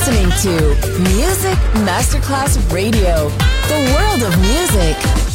listening to Music Masterclass Radio, the world of music.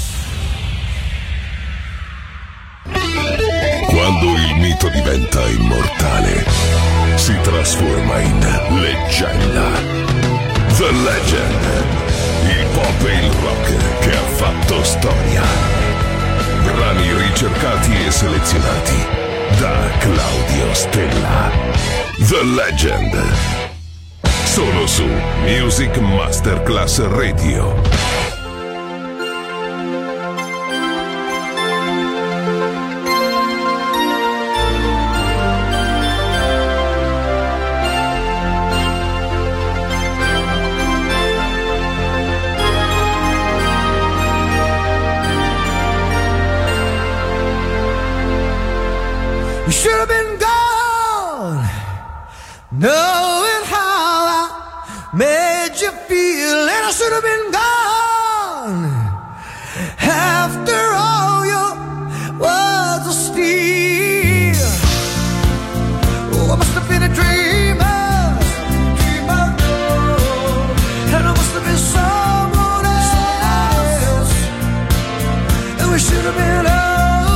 Quando il mito diventa immortale, si trasforma in leggenda. The Legend, il pop e il rock che ha fatto storia. Brani ricercati e selezionati da Claudio Stella. The Legend. Solo su Music Masterclass Radio. You should have been gone, knowing how I made you feel, and I should have been gone. After all, your words of steel. Oh, I must have been a dreamer, and I must have been someone else, and we should have been over.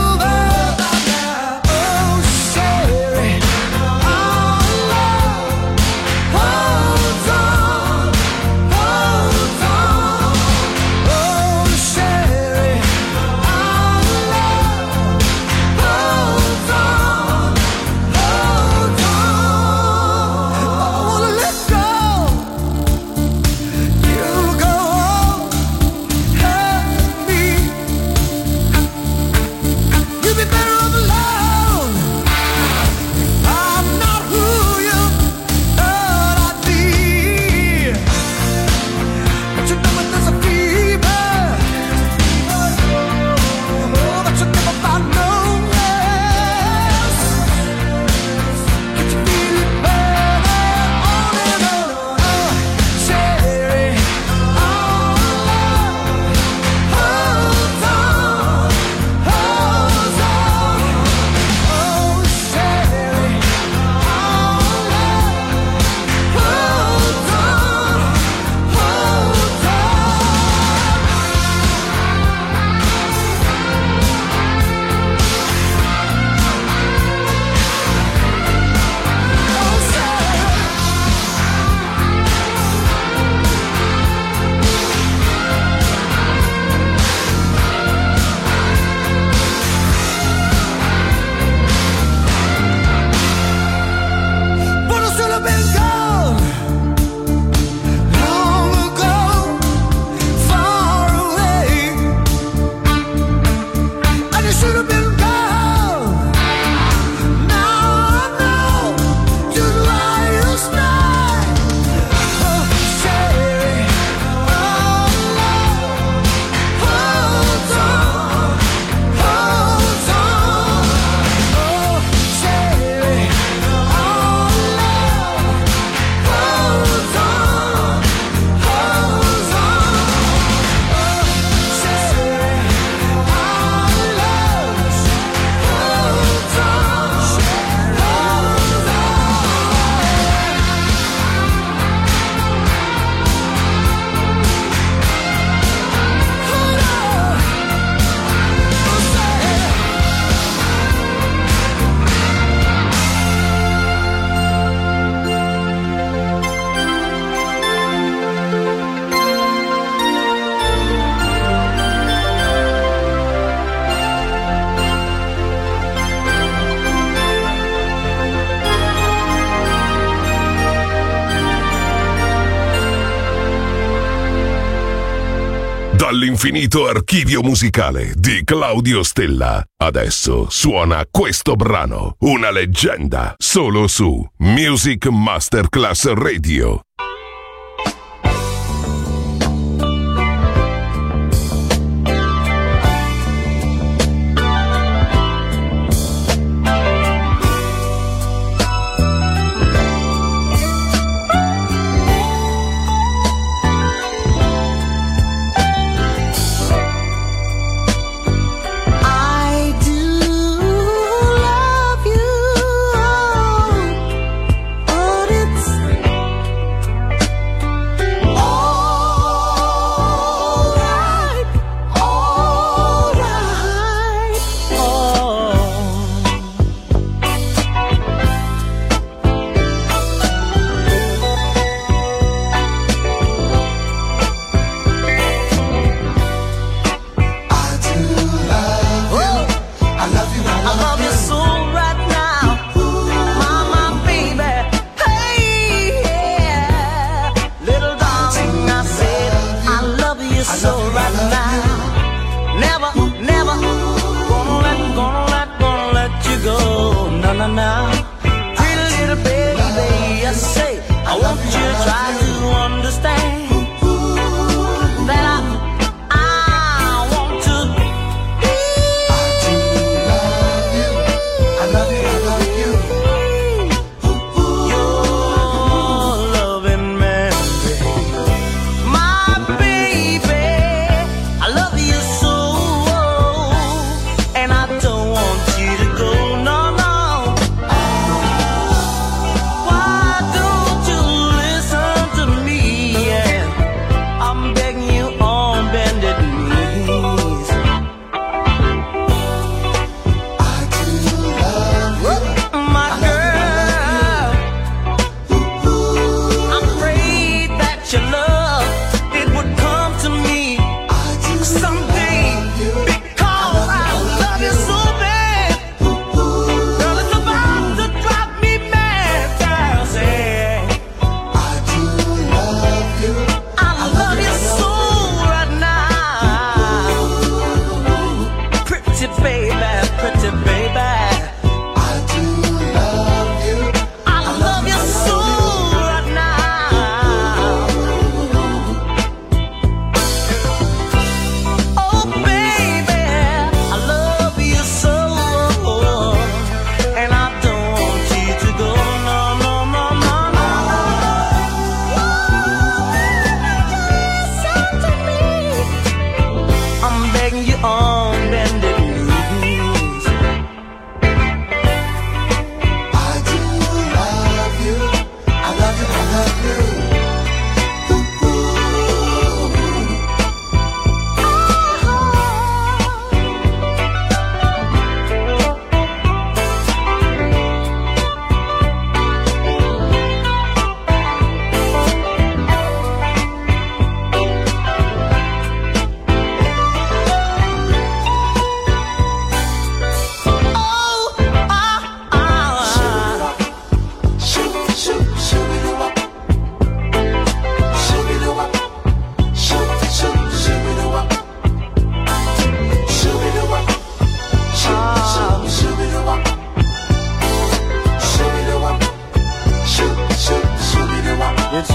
Dall'infinito archivio musicale di Claudio Stella. Adesso suona questo brano, una leggenda, solo su Music Masterclass Radio.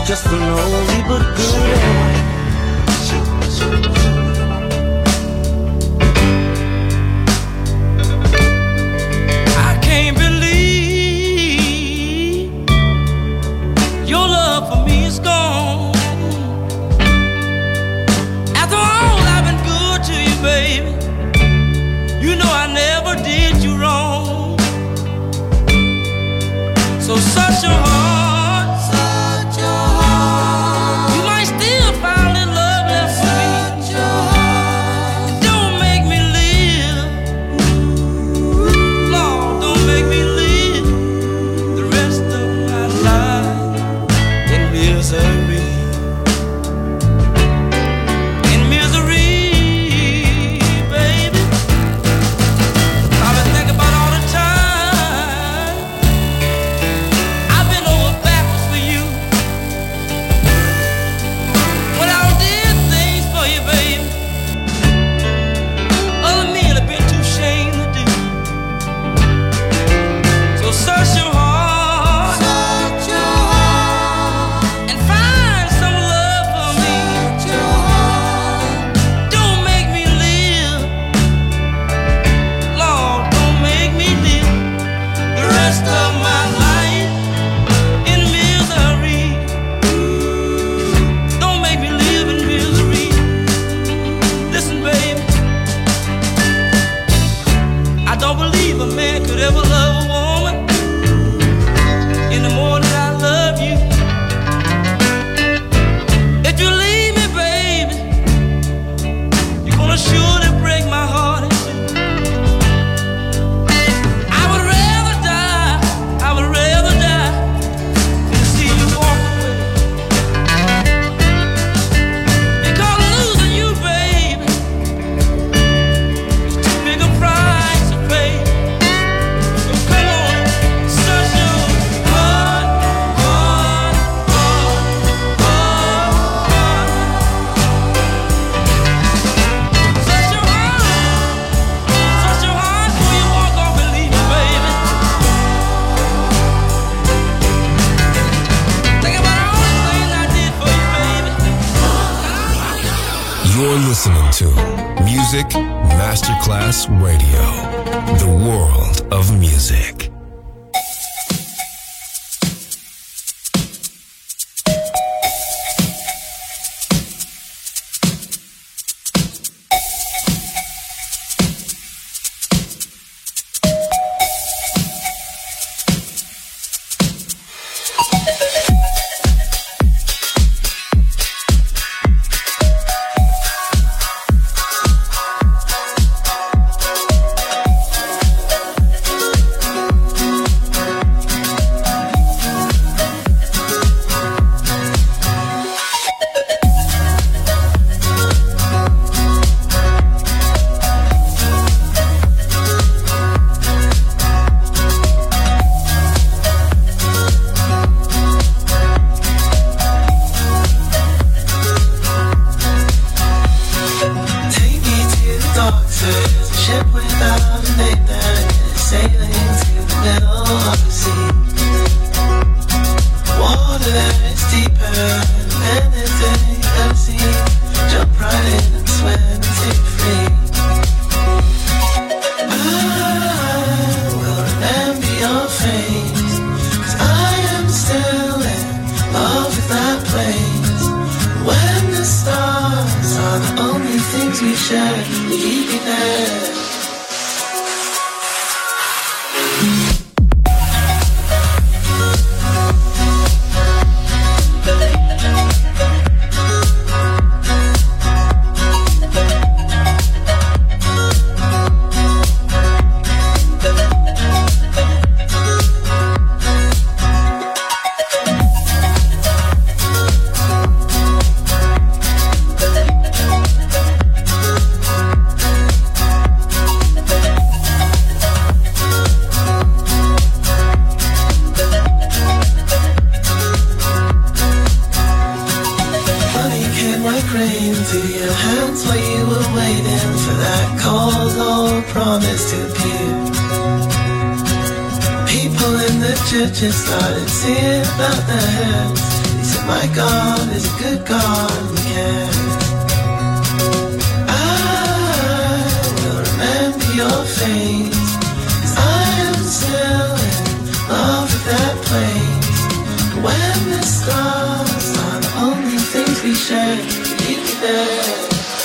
just an oldie but goodie. I can't believe your love for me is gone. After all I've been good to you, baby, you know I never did you wrong. So such a heart, such a heart. You might still find in love left for me. Such a heart. Don't make me live, Lord, don't make me live the rest of my life in misery. In misery, baby. I've been thinking about all the time I've been over backwards for you. When I did things for you, baby, other men have been too ashamed to do. So search your heart, search your heart, and find some love for me. Search your heart. Don't make me live, Lord, don't make me live the rest of my life in misery. Don't make me live in misery. Listen, baby, I don't believe a man could ever love a woman any more than I love you. If you leave me, baby, you're gonna surely break my heart in two. I would rather die than to see you walk away. Because losing you, baby, is too big a price to pay. So come on, search your heart, heart, heart, heart. Search your heart before you walk off and leave me, baby. Think about all the things I did for you, baby. You're listening to Music Masterclass Radio, the world of music. Take me to the dark side, a ship without a name that is sailing to the middle of the sea. Water that is deeper than anything I've seen. Jump right in and swim and take free. I will remember your face, 'cause I am still in love with that place. When the stars are the only things we share, will you be there? into your hands while you were waiting for that cold old promise to appear. People in the churches started seeing about their hands. They said, my God is a good God, we can. I will remember your face, 'cause I am still in love with that place. When the stars are the only things we share, keep me there.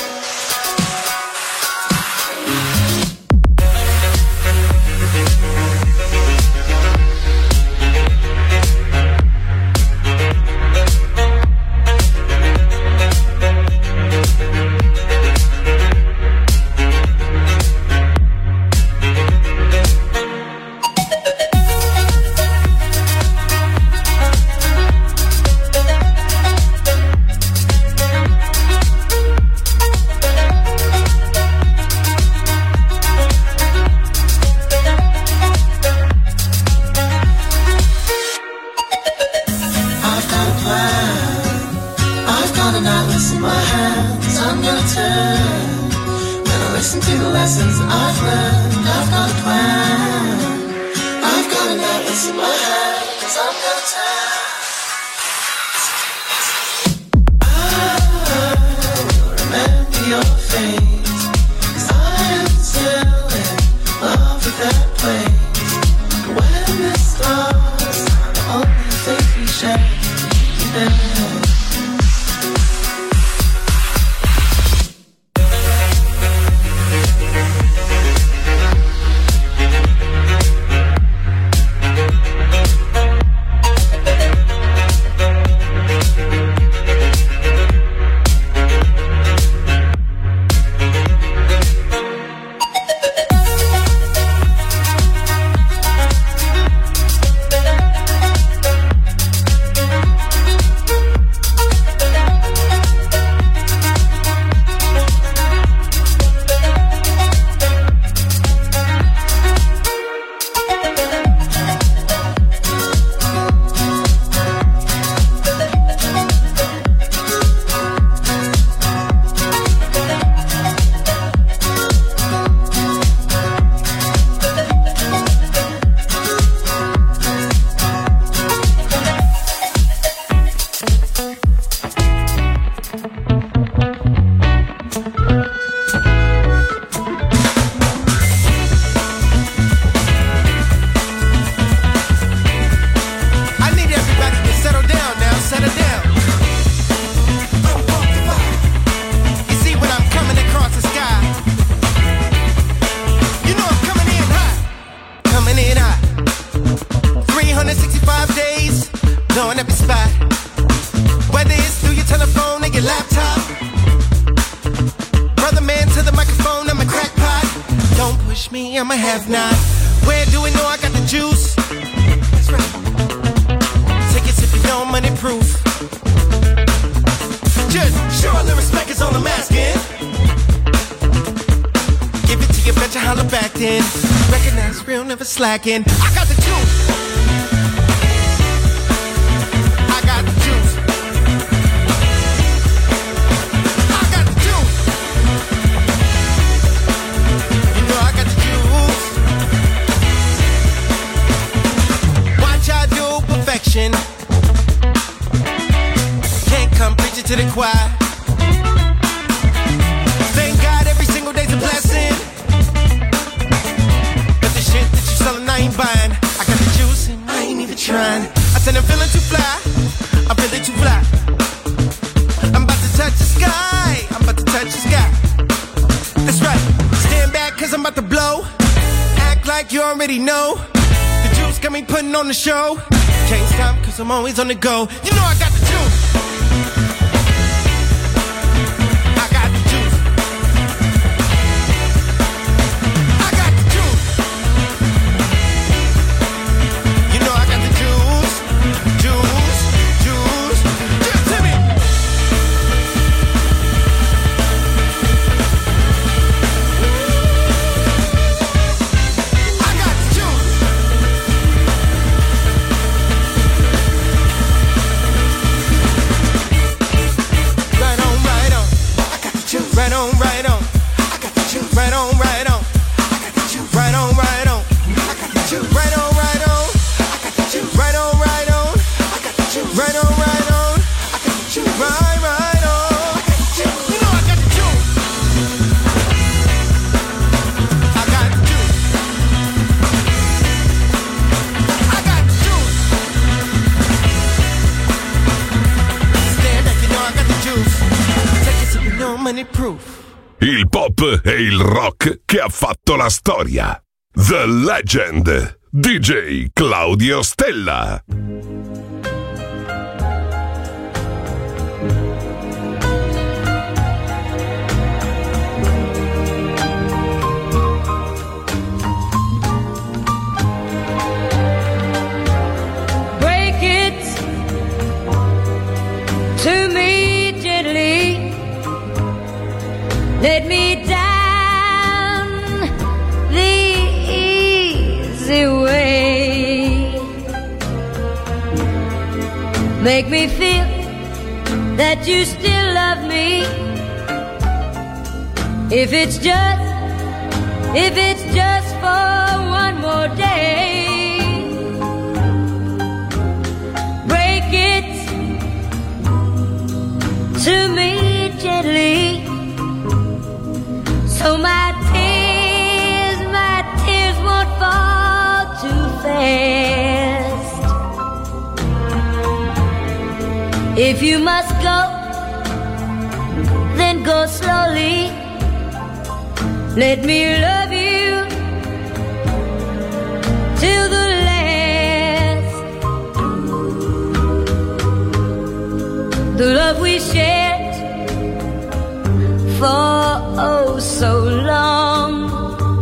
Slacking. I got the juice. I got the juice. I got the juice. You know I got the juice. Watch I do perfection. Can't come preaching to the choir. Thank God every single day's a blessing. I ain't buying. I got the juice and I ain't even trying. I said I'm feeling too fly. I'm feeling too fly. I'm about to touch the sky. I'm about to touch the sky. That's right. Stand back cause I'm about to blow. Act like you already know. The juice got me putting on the show. Can't stop cause I'm always on the go. You know I got the juice. I got the juice. I got the juice. many proof. Il pop e il rock che ha fatto la storia. The Legend, DJ Claudio Stella. Break it to me gently. Let me down the easy way. Make me feel that you still love me. If it's just for one more day. Break it to me gently. So my tears won't fall too fast. If you must go, then go slowly. Let me love you till the last. The love we shared for oh so long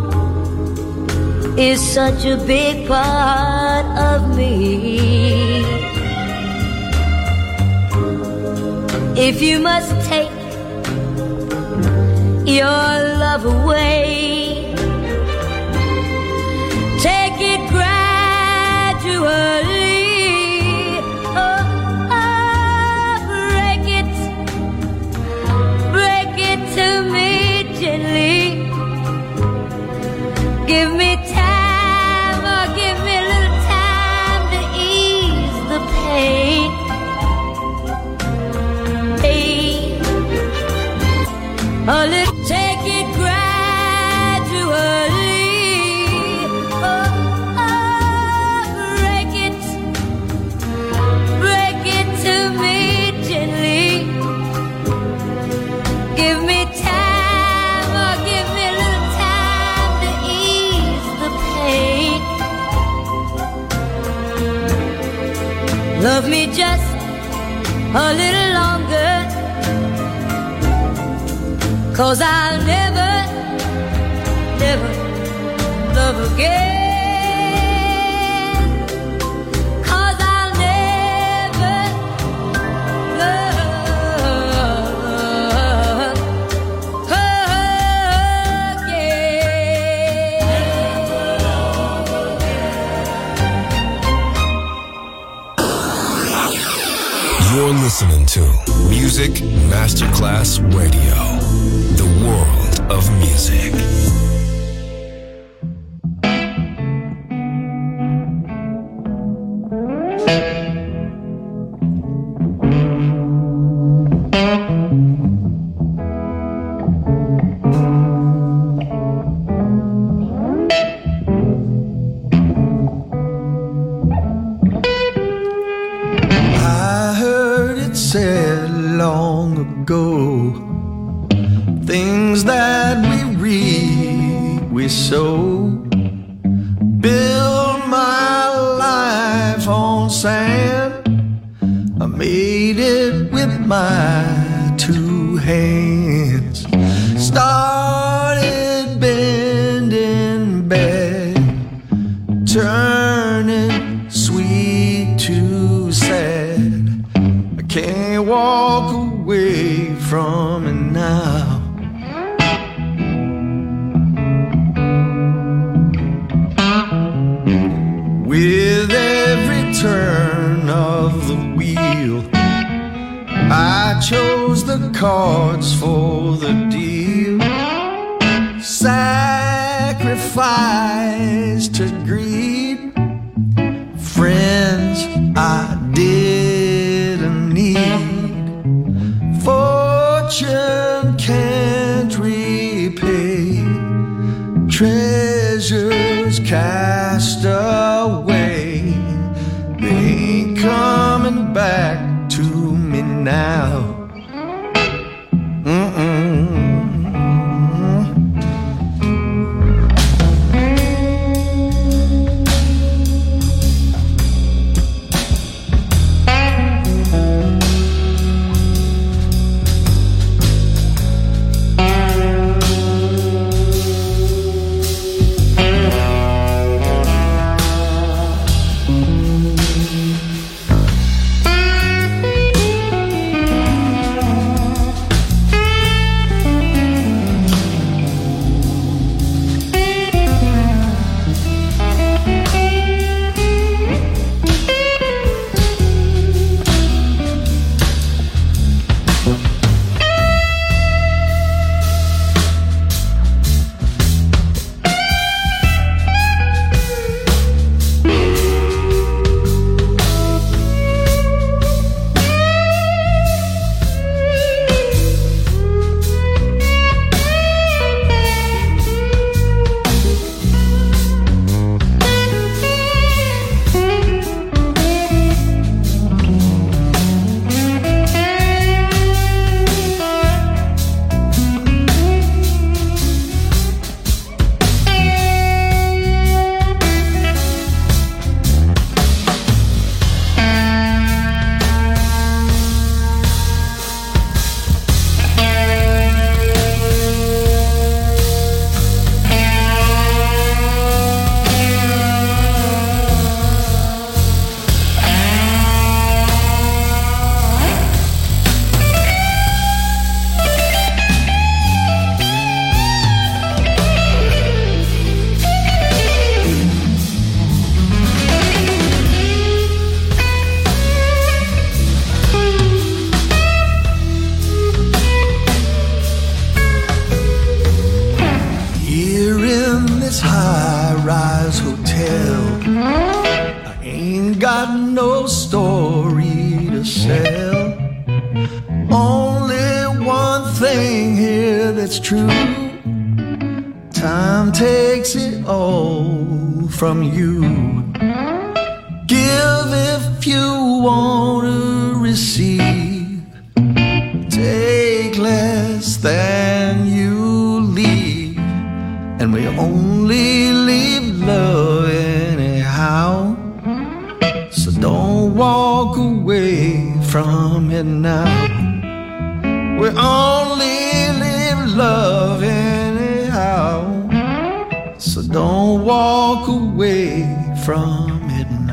is such a big part of me. If you must take your love away, take it gradually. Oh, break it to me gently. Give me time, or give me a little time to ease the pain. A little, take it gradually. Oh, break it to me gently. Give me time, or give me a little time to ease the pain. Love me just a little longer, 'cause I'll never, never love again. 'Cause I'll never love again. You're listening to Music Masterclass Radio. The world of music. I heard it said long ago, things that we read, we sow. Build my life on sand, I made it with my two hands. Started bending bad, turning sweet to sad. I can't walk away from it now. With every turn of the wheel, I chose the cards for the deal. Sacrifice to greed, friends I didn't need. Fortune can't repay, treasures cast away. They ain't coming back to me now. Mm-mm. no story to sell. Only one thing here that's true. Time takes it all from you. Give if you want to receive. Take less than you leave. And we only leave love anyhow. So don't walk away from it now. We only leave love anyhow. So don't walk away from it now.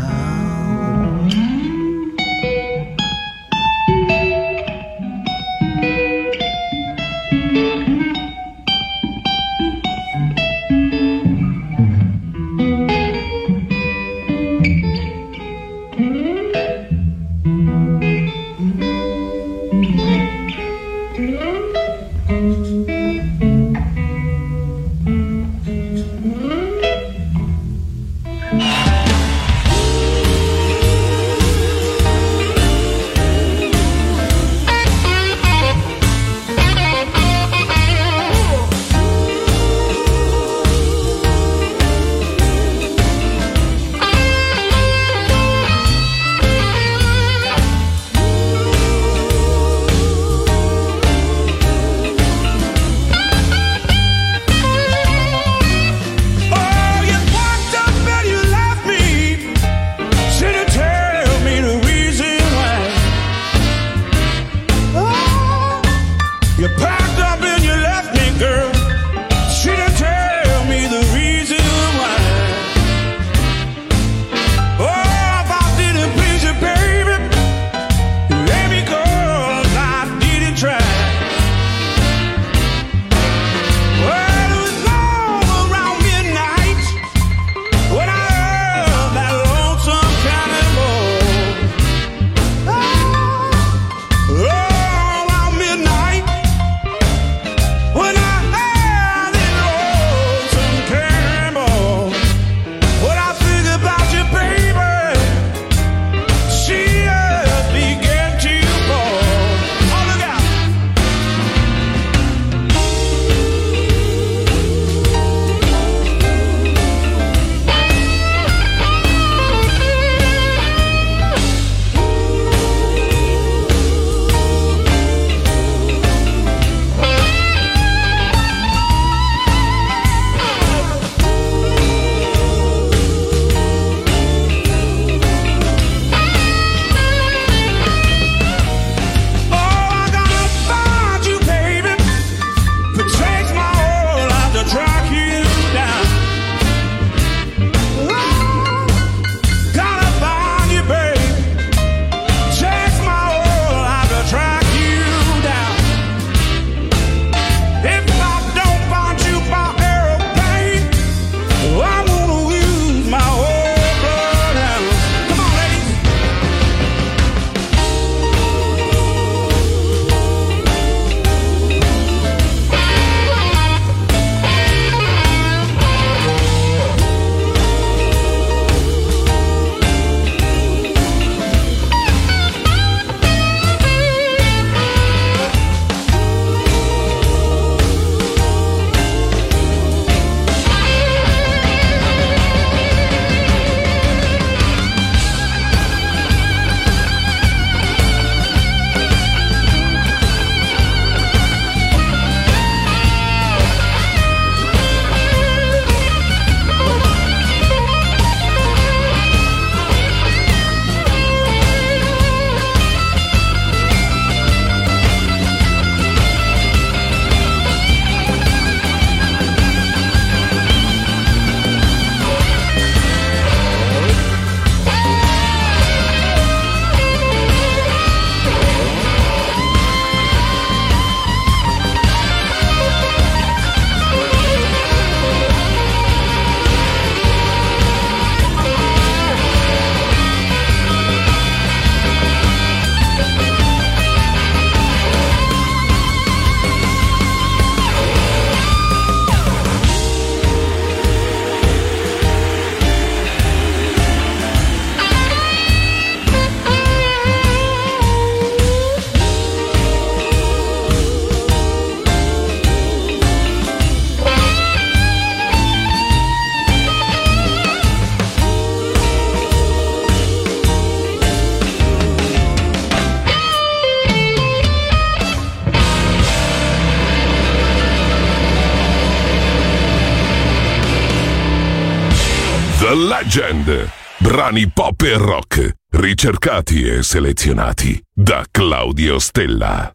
Legend. Brani pop e rock, ricercati e selezionati da Claudio Stella.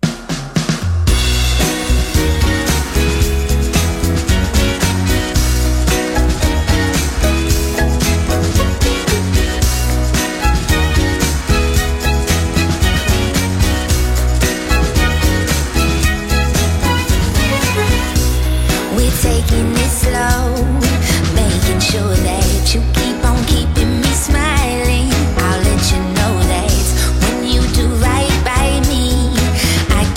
Taking it slow, making sure that you keep on keeping me smiling. I'll let you know that when you do right by me, I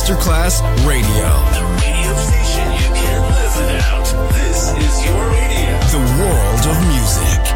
Masterclass Radio. The radio station you can't live without. This is your radio. The world of music.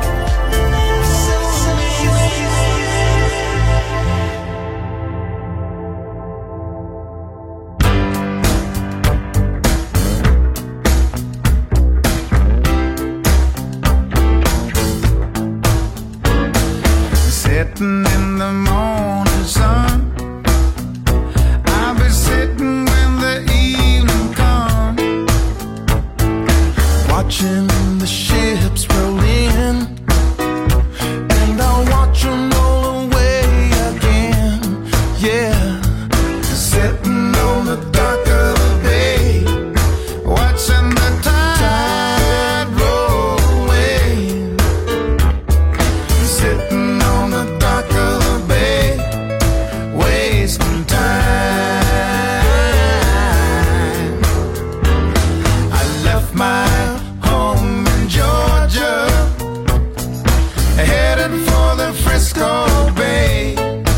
Sitting in the morning sun, I'll be sitting when the evening comes, watching the ships roll in, and I'll watch them roll away again. Yeah, sitting on the dock of the bay, watching the tide roll away. Sitting on the dock of the bay, wasting time. I left my home in Georgia, headed for the Frisco Bay.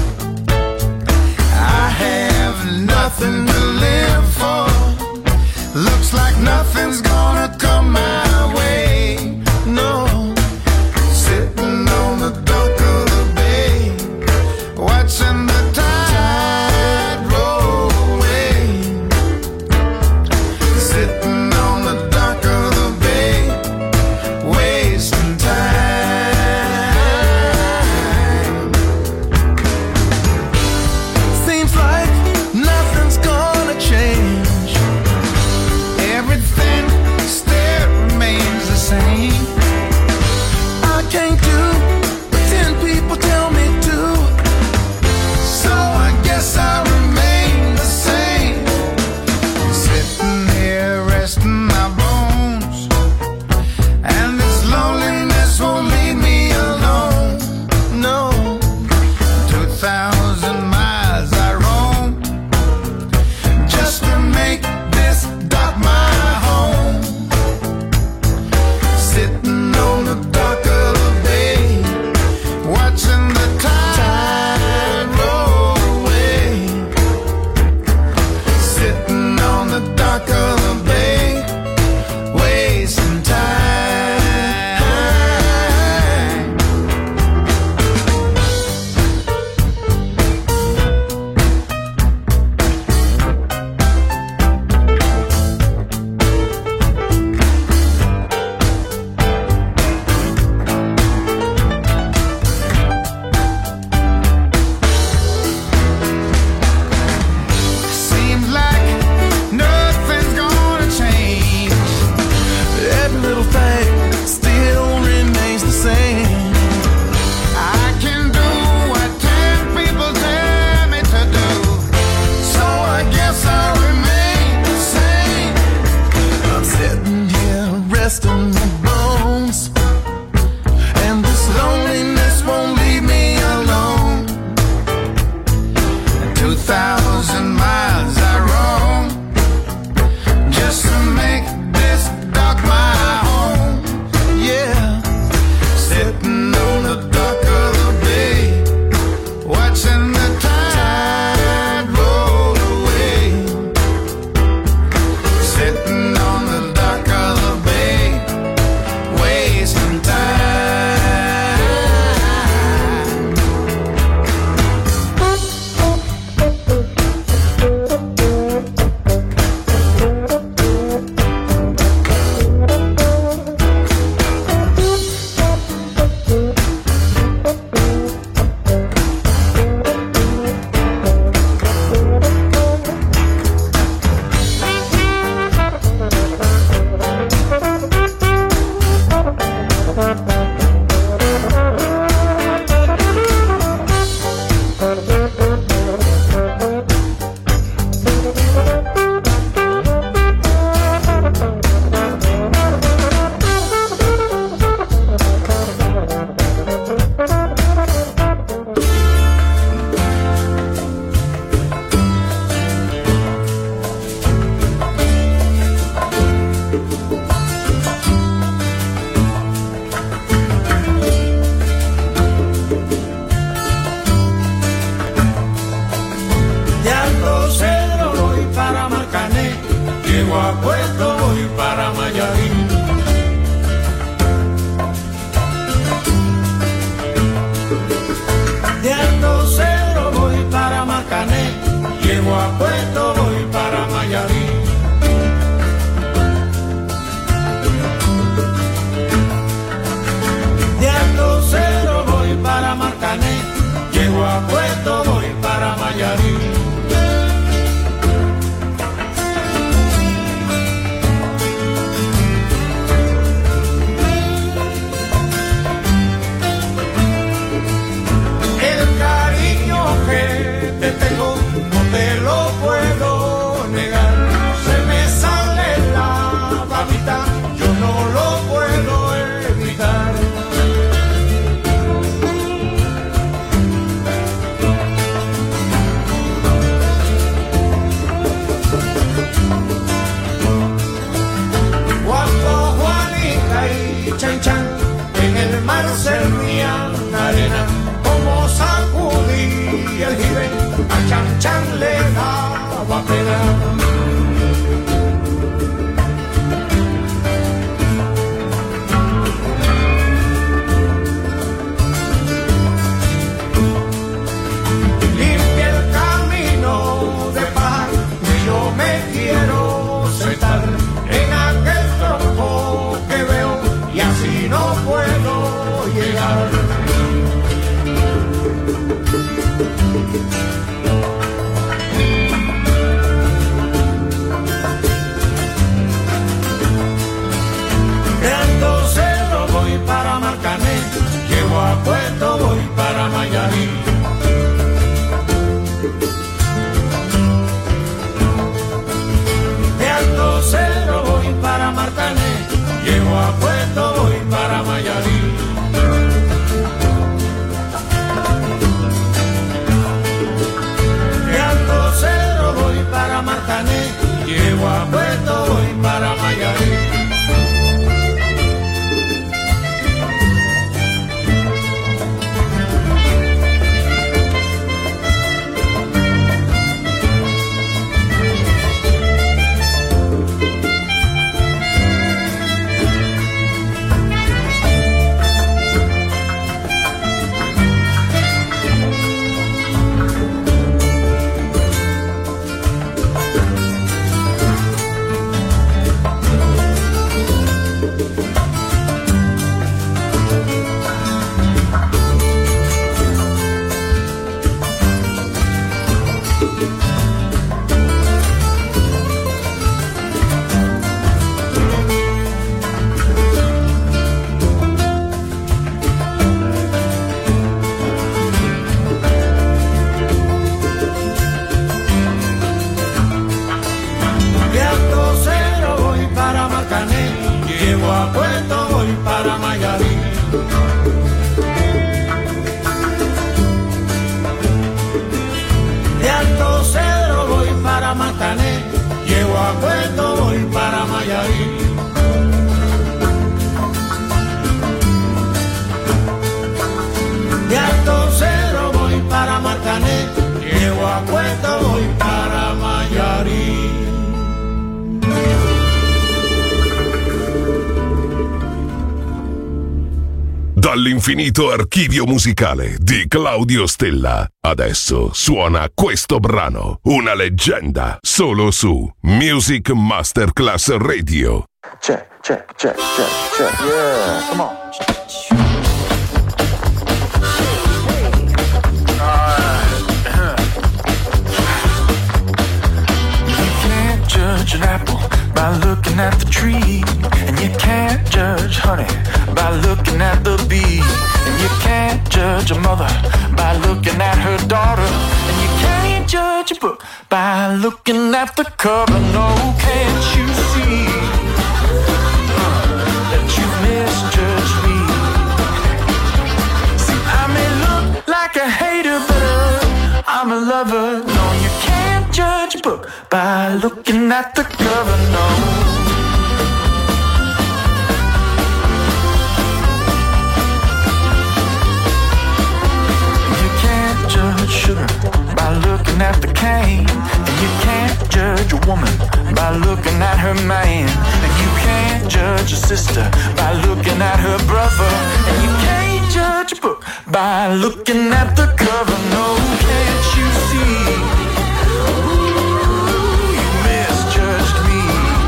I have nothing to live for, looks like nothing's gonna come my way. No. Sitting on the dock of the bay, watching the tide roll away. Sitting on the dock of the bay, wasting time. Seems like nothing's gonna change. Everything still remains the same. I can't do what 10 people tell me to, so I guess I remain the same. Sitting here resting my bones, and this loneliness won't leave me alone. No, 2,000 miles I roam, just to make this dock my home. Sitting on the dock of the bay, watching the tide roll away. Sitting on the dock of the bay, wasting time. Seems like nothing's gonna change. Every little thing still remains the same. I can do what 10 people tell me to do, so I guess I remain the same. I'm sitting here resting my bones, and this loneliness won't leave me alone. 2,000 miles I roam, just to make this dock my home. Yeah, sitting on the dock of the bay, watching the tide roll away. Sitting on the dock of the bay, para Mayarín. De Alto Cedro voy para Matané, llego a Puerto, voy para Mayarín. De Alto Cedro voy para Matané, llego a Puerto, voy para Mayarín. Dall'infinito archivio musicale di Claudio Stella. Adesso suona questo brano, una leggenda, solo su Music Masterclass Radio. Check, check, check, check, check. Yeah, come on. You can't judge an apple by looking at the tree, and you can't judge honey by looking at the bee, and you can't judge a mother by looking at her daughter, and you can't judge a book by looking at the cover. No, can't you see that you've misjudged me? See, I may look like a hater, but I'm a lover. No, you can't judge a book by looking at the cover. No. Sugar by looking at the cane, and you can't judge a woman by looking at her man, and you can't judge a sister by looking at her brother, and you can't judge a book by looking at the cover. No, can't you see? Ooh, you misjudged me.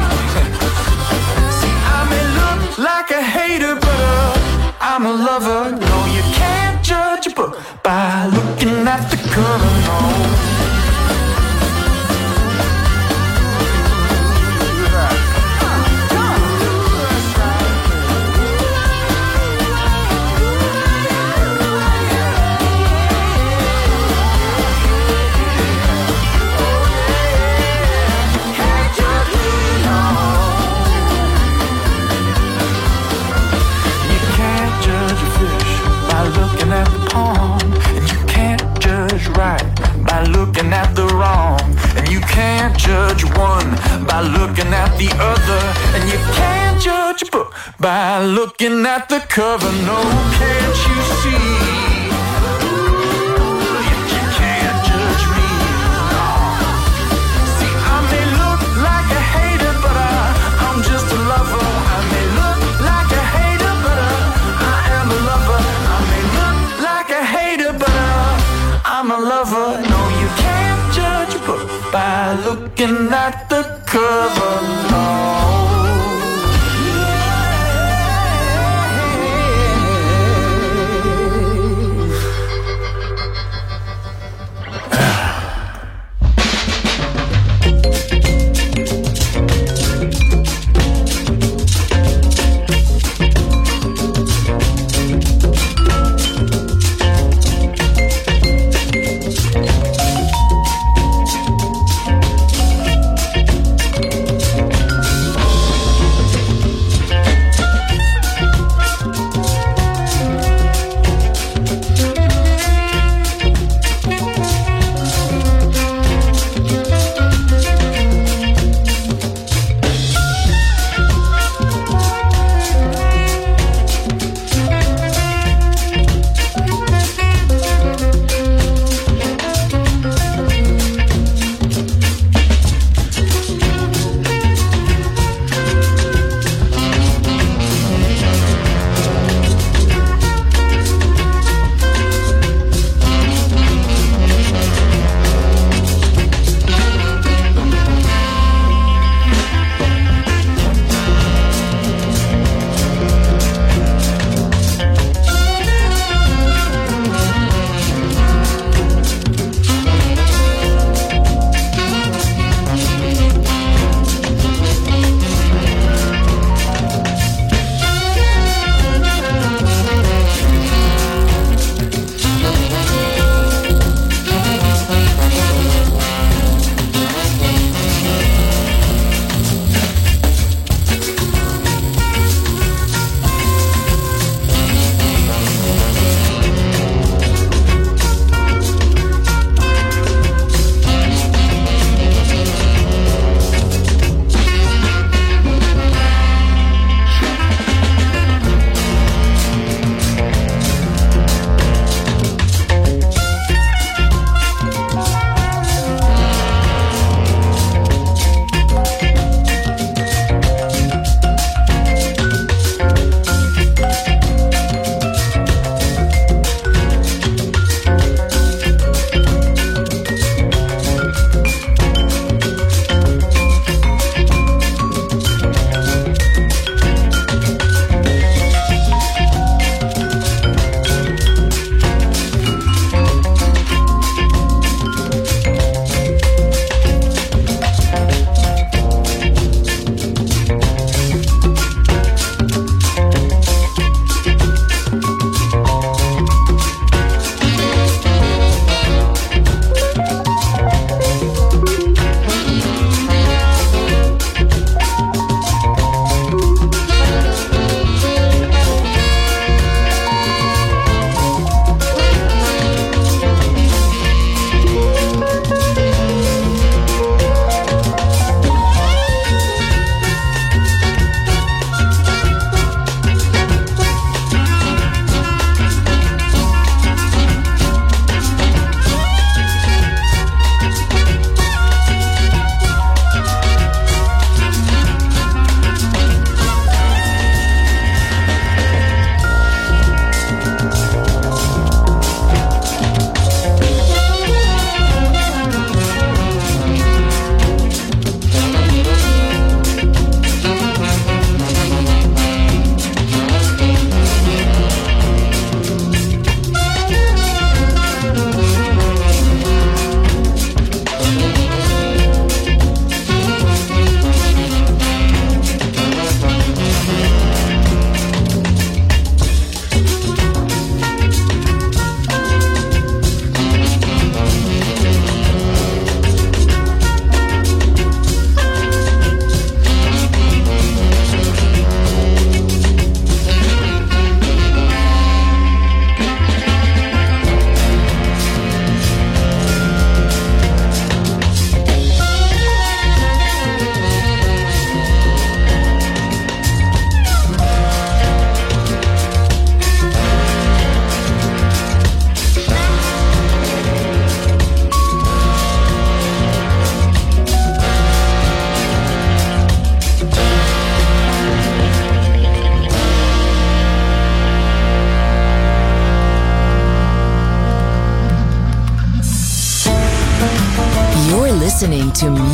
See, I may look like a hater, but I'm a lover. No, you can't judge a book by looking at the cover. No. Looking at the wrong, and you can't judge one by looking at the other, and you can't judge a book by looking at the cover. No, can't you see? You can't judge me. See, I may look like a hater, but I'm just a lover. I may look like a hater, but I am a lover. I may look like a hater, but I'm a lover. No, you can't judge a book by looking at the cover. No.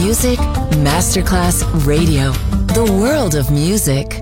Music Masterclass Radio. The world of music.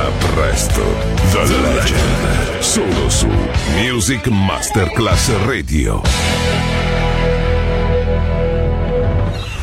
presto, The Legend, solo su Music Masterclass Radio.